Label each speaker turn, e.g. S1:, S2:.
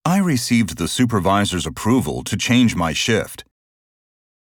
S1: I received the supervisor's approval to change my shift.